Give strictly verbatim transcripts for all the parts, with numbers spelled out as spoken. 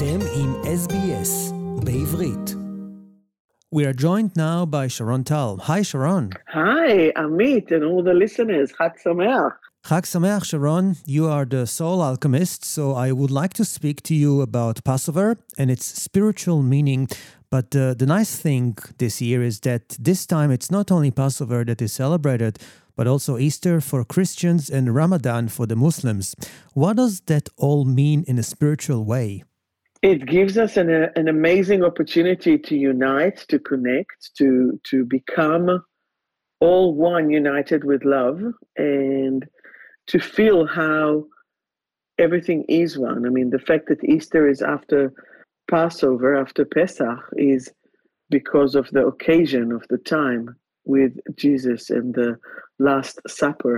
אתם עם S B S בעברית. We are joined now by Sharon Tal. Hi, Sharon. Hi, Amit and all the listeners. Chag Sameach. Chag Sameach, Sharon. You are the soul alchemist, so I would like to speak to you about Passover and its spiritual meaning. But uh, the nice thing this year is that this time it's not only Passover that is celebrated, but also Easter for Christians and Ramadan for the Muslims. What does that all mean in a spiritual way? It gives us an, a, an amazing opportunity to unite, to connect, to, to become all one, united with love, and to feel how everything is one. I mean, the fact that Easter is after Passover, after Pesach, is because of the occasion of the time with Jesus and the Last Supper.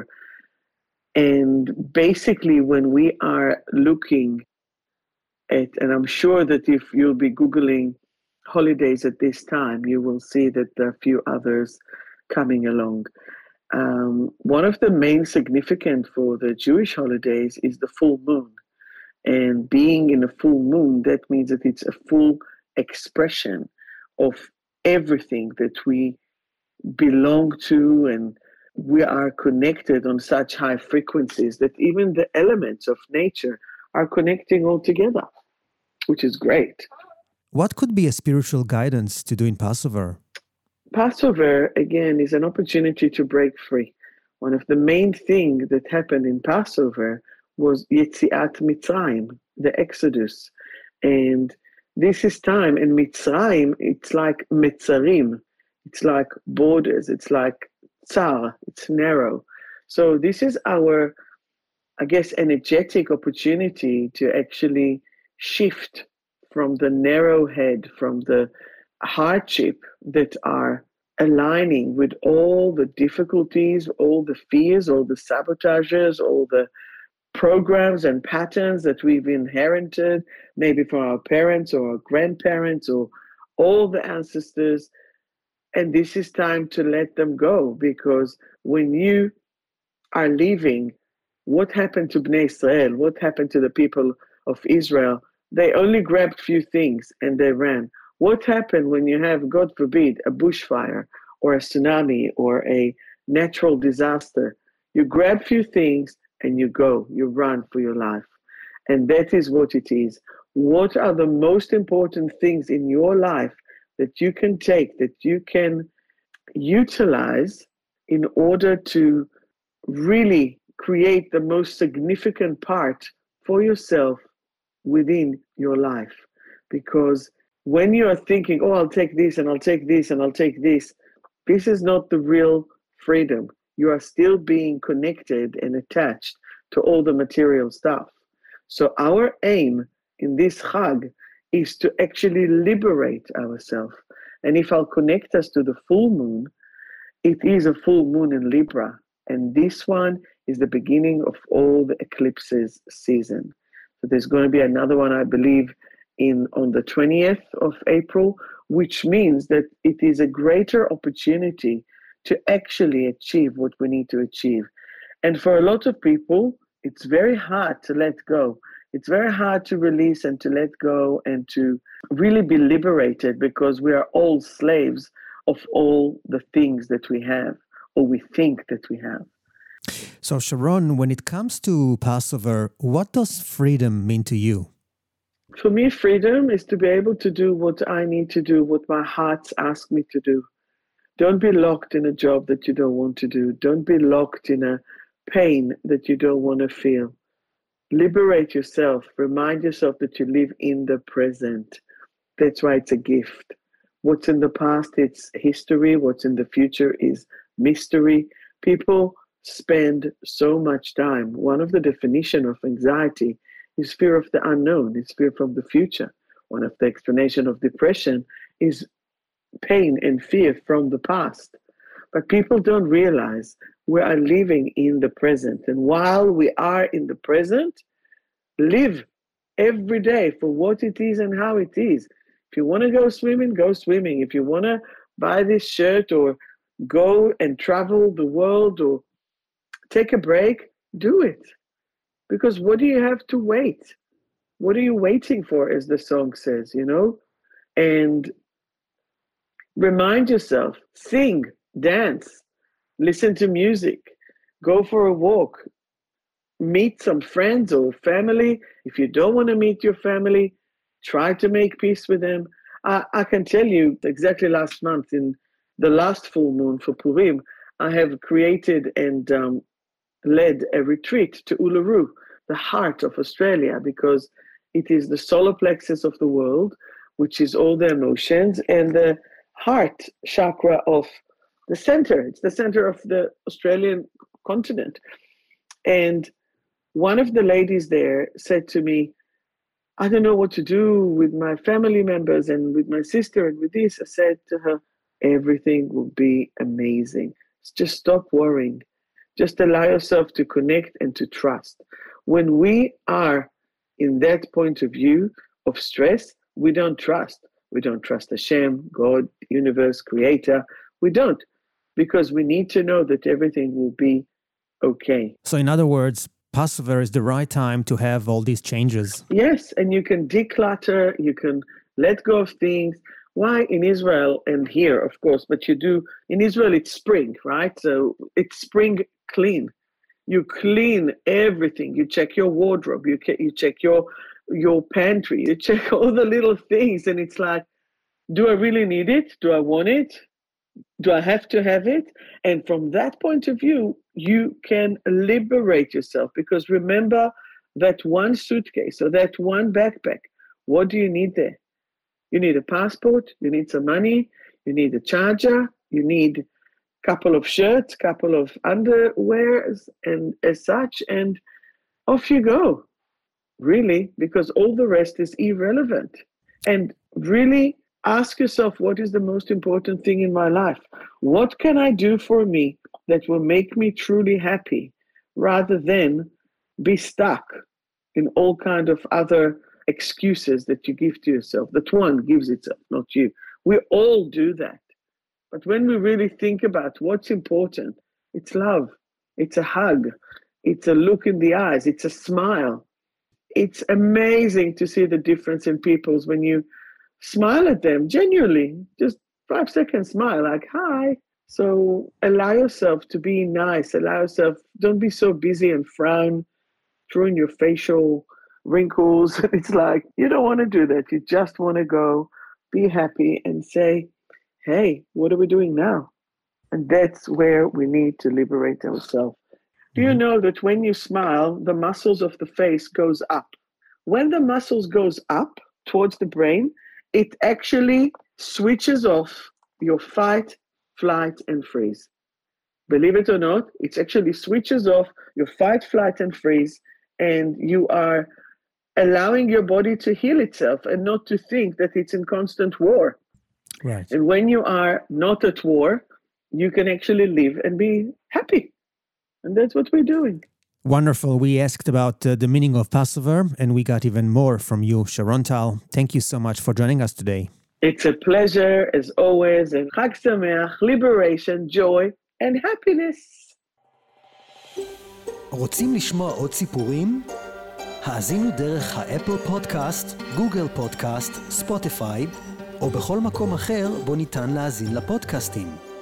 And basically, when we are looking at, and I'm sure that if you'll be Googling holidays at this time, you will see that there are a few others coming along. Um, one of the main significant for the Jewish holidays is the full moon. And being in a full moon, that means that it's a full expression of everything that we belong to, and we are connected on such high frequencies that even the elements of nature are connecting all together, which is great. What could be a spiritual guidance to do in Passover? Passover, again, is an opportunity to break free. One of the main things that happened in Passover was Yetziat Mitzrayim, the Exodus. And this is time, and Mitzrayim, it's like Metzarim. It's like borders. It's like tsar. It's narrow. So this is our, I guess, energetic opportunity to actually shift from the narrow head, from the hardship that are aligning with all the difficulties, all the fears, all the sabotages, all the programs and patterns that we've inherited, maybe from our parents or our grandparents or all the ancestors. And this is time to let them go, because when you are leaving, what happened to Bnei Israel? What happened to the people of Israel? They only grabbed few things and they ran. What happened when you have, God forbid, a bushfire or a tsunami or a natural disaster? You grab few things and you go, you run for your life. And that is what it is. What are the most important things in your life that you can take, that you can utilize in order to really create the most significant part for yourself within your life? Because when you are thinking, oh, I'll take this and I'll take this and I'll take this, this is not the real freedom. You are still being connected and attached to all the material stuff. So our aim in this Chag is to actually liberate ourselves. And if I'll connect us to the full moon, it is a full moon in Libra. And this one is the beginning of all the eclipses season. So there's going to be another one, I believe, in on the twentieth of April, which means that it is a greater opportunity to actually achieve what we need to achieve. And for a lot of people, it's very hard to let go. It's very hard to release and to let go and to really be liberated, because we are all slaves of all the things that we have, or we think that we have. So Sharon, when it comes to Passover, what does freedom mean to you? For me, freedom is to be able to do what I need to do, what my heart asks me to do. Don't be locked in a job that you don't want to do. Don't be locked in a pain that you don't want to feel. Liberate yourself. Remind yourself that you live in the present. That's why it's a gift. What's in the past, it's history. What's in the future is mystery. People spend so much time. One of the definitions of anxiety is fear of the unknown. It's fear from the future. One of the explanations of depression is pain and fear from the past. But people don't realize we are living in the present. And while we are in the present, live every day for what it is and how it is. If you want to go swimming, go swimming. If you want to buy this shirt or go and travel the world or take a break, do it. Because what do you have to wait? What are you waiting for, as the song says, you know? And remind yourself, sing, dance, listen to music, go for a walk, meet some friends or family. If you don't want to meet your family, try to make peace with them. I, I can tell you exactly last month, in the last full moon for Purim, I have created and um, led a retreat to Uluru, the heart of Australia, because it is the solar plexus of the world, which is all the emotions, and the heart chakra of the center. It's the center of the Australian continent. And one of the ladies there said to me, I don't know what to do with my family members and with my sister and with this. I said to her, everything will be amazing. Just stop worrying. Just allow yourself to connect and to trust. When we are in that point of view of stress, we don't trust. We don't trust Hashem, God, universe, creator. We don't, because we need to know that everything will be okay. So in other words, Passover is the right time to have all these changes. Yes, and you can declutter, you can let go of things. Why in Israel and here, of course, but you do, in Israel it's spring, right? So it's spring clean. You clean everything. You check your wardrobe, you, you check your your pantry, you check all the little things, and it's like, do I really need it? Do I want it? Do I have to have it? And from that point of view, you can liberate yourself, because remember that one suitcase or that one backpack, what do you need there? You need a passport, you need some money, you need a charger, you need a couple of shirts, couple of underwears, and as such, and off you go, really, because all the rest is irrelevant. And really ask yourself, what is the most important thing in my life? What can I do for me that will make me truly happy, rather than be stuck in all kind of other excuses that you give to yourself, that one gives itself, not you. We all do that. But when we really think about what's important, it's love, it's a hug, it's a look in the eyes, it's a smile. It's amazing to see the difference in people's when you smile at them, genuinely, just five seconds smile, like, hi. So allow yourself to be nice, allow yourself, don't be so busy and frown, drawing your facial wrinkles. It's like, you don't want to do that. You just want to go, be happy and say, hey, what are we doing now? And that's where we need to liberate ourselves. Do you know that when you smile, the muscles of the face goes up? When the muscles goes up towards the brain, it actually switches off your fight, flight, and freeze. Believe it or not, it actually switches off your fight, flight, and freeze, and you are allowing your body to heal itself and not to think that it's in constant war. Right. And when you are not at war, you can actually live and be happy. And that's what we're doing. Wonderful. We asked about uh, the meaning of Passover, and we got even more from you, Sharon Tal. Thank you so much for joining us today. It's a pleasure, as always, and Chag Sameach, liberation, joy, and happiness. רוצים לשמוע עוד סיפורים? האזינו דרך האפל פודקאסט, גוגל פודקאסט, ספוטיפיי, או בכל מקום אחר בו ניתן להאזין לפודקאסטים.